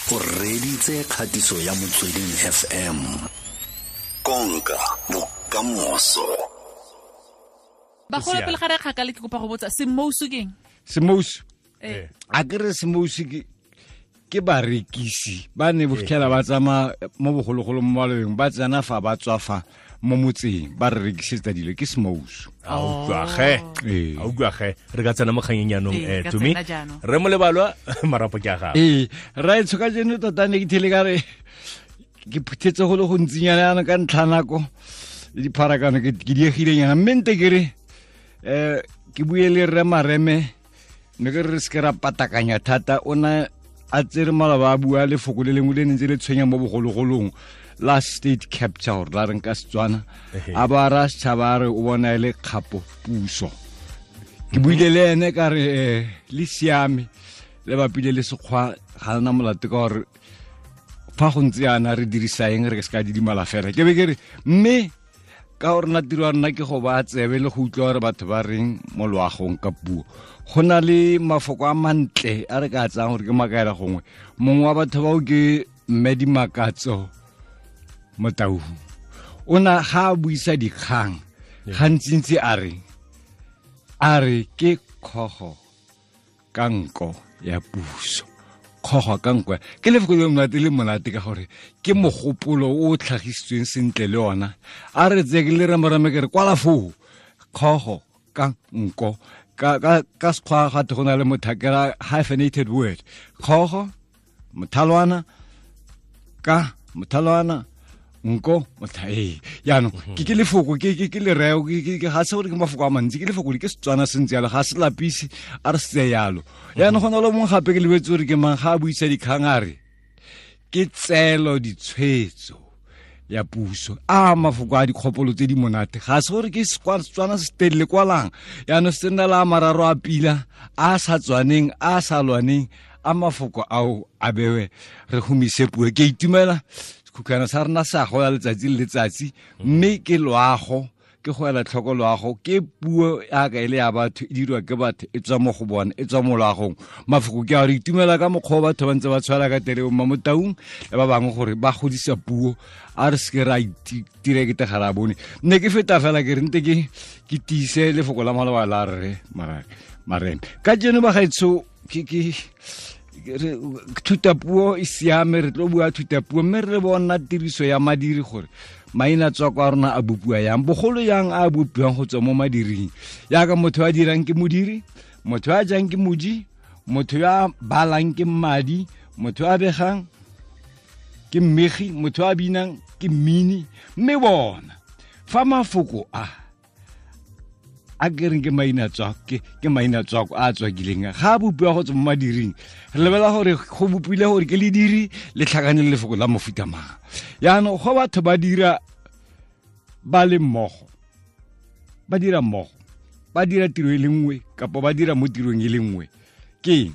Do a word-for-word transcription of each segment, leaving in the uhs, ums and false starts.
o reditse kgatiso ya Motsweding F M. Konka bokamoso. Ba go pele gare kgakale ke kopa go botsa Semousu keng? Semousu. Eh. A kere Semousu ke ke barekisi ba ne botlhela ba tsama mo bogologolo mo malobeng ba tsena fa ba tswafa mo motseng ba re rekisetsa dilo ke Semousu. A utlwa ge Eh. a utlwa ge re ka tsena mo kganyenyanong Eh, eh ka tumi tsena jaanong. re mo lebalwa marapo ke a gago Eh, ra itshoka jeno tota ne ke thele ka re ke phuthetse go le go ntsinyana yana ka ntlhanako le dipharakano ke ke diegile nyana mente ke re eh ke buele re mareme ne ke re se ke ra patakanya thata ona a tsere malaba a bua le foko le lengwe le ntse le tshwenya mo bogologolong la state capture la reng ka Setswana a ba ra setšhaba re o bona ele kgapo puso ke buile le ene ka re eh, le siame le bapile le sekgwa ga na molate ka gore fa go ntse yana re dirisa eng re ke se ka didimala fela ke be ke re mme ka gore na tiro ya rona ke go ba tsebe le go utlwa gore batho ba reng mo loagong ka puo go na le mafoko a mantle a re ka tsang gore ke makaela gongwe mongwe wa batho bao ke Mmedimakatso Motau o na ga a buisa dikgang gantsintsi a re a re ke kgogo ka nko ya puso kgogo ka nko ke lefoko le monate le monate ka gore ke mogopolo o tlhagisitsweng sentle le ona a re tse ke le ramarame ke re kwala foo kgogo ka nko ka ka ka sekgwa gate go na le mothakela hyphenated word kgogo mothalwana ka mothalwana nko mothai yaano ke ke lefoko ke ke ke le reo ke ga se gore ke mafoko a mantsi ke lefoko le ke Setswana sentse yalo ga se lapisi a re se yalo yaano go na le mongwe gape ke lebetse gore ke mang ga a buisa dikgang a re ke tselo ditshwetso ya puso a mafoko a dikgopolo tse di monate ga se gore ke Setswana se telele kwalang yaano se nna la mararo a pila a sa tswaneng a sa lwaneng a mafoko ao a bewe re humise puo ke itumela kukana sa rena sa go ya letsatsi le letsatsi mme ke loago ke go ela tlhoko loago ke puo ya ka ile ya batho e dirwa ke batho e tswa mo go bona e tswa mo loagong mafoko ke a re itumela ka mokgwa batho ba ntse ba tshwara ka tere mo Motaung le ba bangwe gore ba godisa puo a re se ke ra itire ke tegara bone nne ke feta fela ke re nte ke ke tise lefoko la maloba la re mara mareme ka jeno ba gaetso ke ke thutapuo e siame re tlo bua thutapuo mme re bona tiriso ya madiri gore maina tswa kwa rona a bopua yang bogolo yang a bopuang go tswa mo madiring yaka motho a dirang ke modiri motho a jang ke moji motho ya balang ke mmadi motho a begang ke mmegi motho a binang ke mmini mme bona fa mafoko a a kereng ke maina tswa ke ke maina tswa a tswa gileng ga bopua go tswa mo madiring re lebela gore go bopile gore ke le diri le tlhakane le lefoko la mofuta mang yaano go batho ba dira ba le mmogo ba dira mmogo ba dira tiro e le nngwe kapo ba dira mo tirong e le nngwe ke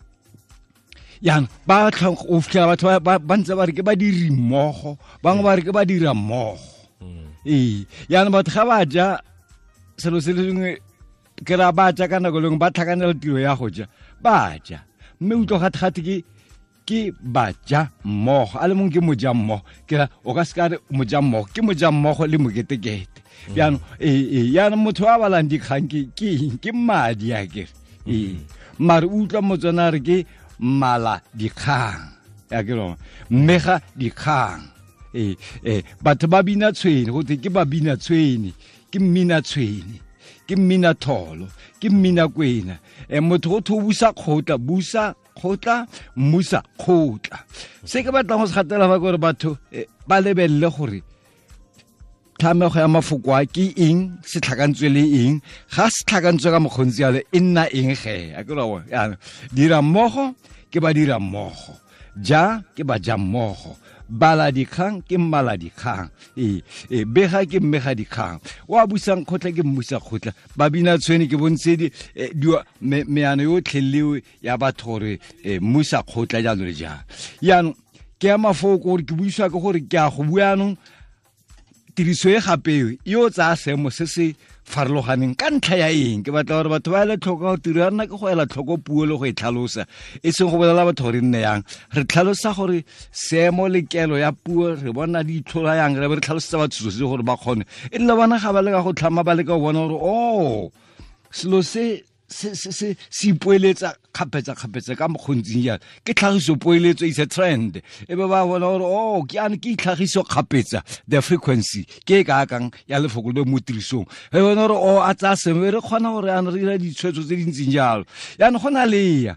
yaano ba tlhang o fitlhela batho ba ntse ba re ke ba diri mmogo bangwe ba re ke ba dira mmogo ee yaano batho ga ba ja selo se le lengwe ke ra ba ja ka nako lengwe ba tlhakanela tiro ya go ja ba ja mme utlo gate-gate ke ke ba ja mmogo a le mongwe ke moja mmogo ke ra o ka se ka re moja mmogo ke moja mmogo le moketekete yaanong ee yaanong motho a balang dikgang ke ke madi a kere ee mare utlwa motswana re ke mala dikgang ya ke rona mmega dikgang ee ee batho ba bina tshweni go te ke ba bina tshweni ke mmina tshweni ke mmina tholo ke mmina kwena e motho go tho busa khotla busa khotla musa khotla se ke batla go se gatela fa gore batho ba lebelle gore tlamego ya mafoko a ke eng se tlhakantswe le eng ga se tlhakantswe ka mokgontsi yale e nna eng ge a ke rona ya dira mmogo ke ba dira mmogo ja ke ba ja mmogo bala dikgang ke mmala dikgang e e bega ke mmega dikgang wa busang khotla ke mmusa khotla ba bina tshweni ke bontse di meano yo tlhelewe ya batho gore mmusa khotla jalo le jang yaanong ke ya mafoko gore ke buiswa ke gore ke a go buanong tiriso e gape yo tsa seemo se se farologaneng ka ntlha ya eng ke batla gore batho ba ele tlhoko go tira nna ke go ela tlhoko puo le go e tlhalosa e seng go bolela batho gore nne yang re tlhalosa gore seemo le kelo ya puo re bona di itlhola yang re be re tlhalosetsa batho se gore ba kgone e le bona ga ba le ka go tlhama ba le ka go bona gore oh selo se se se se se ipoeletsa khapetsa khapetsa ka mokgontsing ya ke tlhagiso poeletso is a trend e be ba bona gore oh ke ane ke tlhagiso khapetsa the frequency ke ka kang ya lefoko le mo tirisong e bona gore oh a tsa se re khona gore ana re dira ditshwetso tse dintseng jalo ya no gona le ya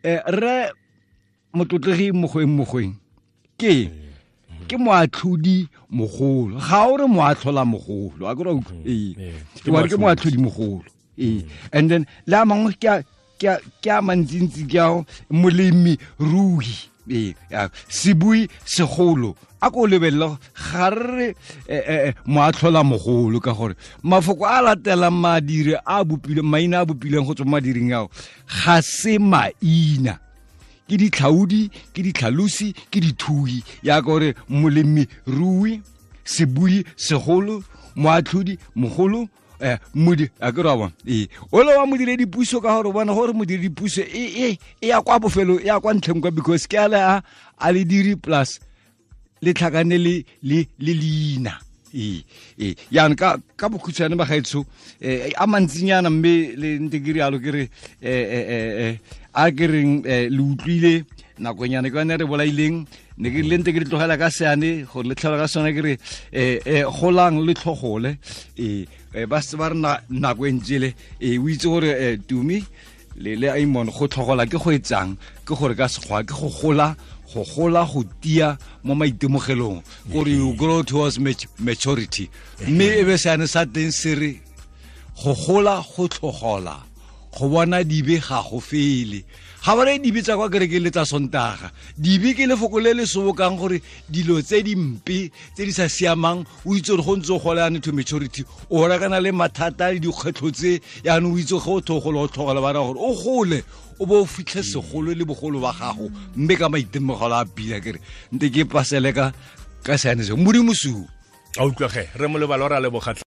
re motlotlegi mogoeng mogoeng ke ke moatlhodi mogolo ga o re moatlhola mogolo a go e ke moatlhodi mogolo eh and then la mangwe ke ke ke mantsintsi ke ao molemi rui eh sibui segolo a go lebella garre moatlhola mogolo ka gore mafoko a latela madire a bopile maina a bopileng go tswa madiring ao ga se maina ke ditlhaudi ke ditlhalosi ke dithui ya gore molemi rui sibui segolo moatlhodi mogolo eh mudi a go rawa eh o le wa modire dipuso ka gore bona gore modire dipuso e e ya kwa bofelo ya kwa ntleng kwa because ke ala a le diri plus le tlhakane le le le lina eh eh ya nka ka bokhutsana ba gaetso eh a mantsinyana mme le ntegiri alo ke re eh eh a ke reng le utlwile nakonyana ke ne re bolaileng ne ke le ntegiri tlogela ka seane go le tlhola ka sona ke re eh golang le tlhogole eh ba se ba rena nako entsele e o itse gore tumi le le aimon go tlhogola ke go etsang ke gore ka segwa ke go gola go gola go tia mo maitemogelong gore you grow towards maturity mme e be sane sa teng sere go gola go tlhogola go bona dibe ga go fele ga ba re dibe tsa kwa kereke le tsa sontaga dibe ke lefoko le le sobokang gore dilo tse dimpe tse di sa siamang o itse gore go ntse go golane to maturity o ra kana le mathata le dikgwetlho tse ya no o itse go thogolo tlhogolo ba ra gore o gole o bo fitlhe segolo le bogolo ba gago mme ka maitemogelo a pila kere nte ke pasele ka ka sane se modimo su a utlwege re mo le balora le bogatla